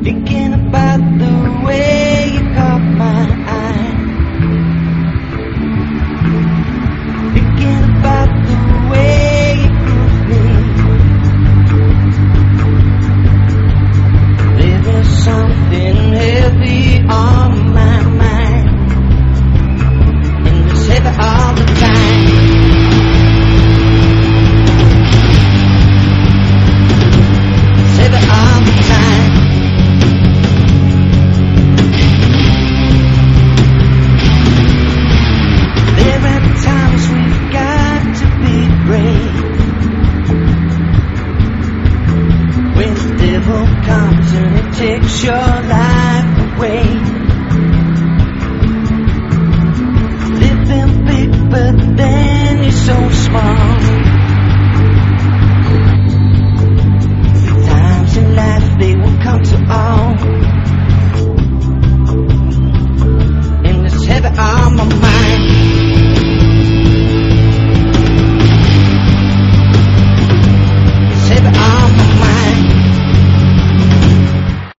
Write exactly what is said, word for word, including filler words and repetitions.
Thinking about the way you caught my eye. Thinking about the way you groove me. There is something heavy on my mind, and it's heavy all the time. It's heavy all the time. There are times we've got to be brave, when the devil comes and it takes your life away. Living big but then you're so small. The times in life, they will come to all, and it's heavy on my mind.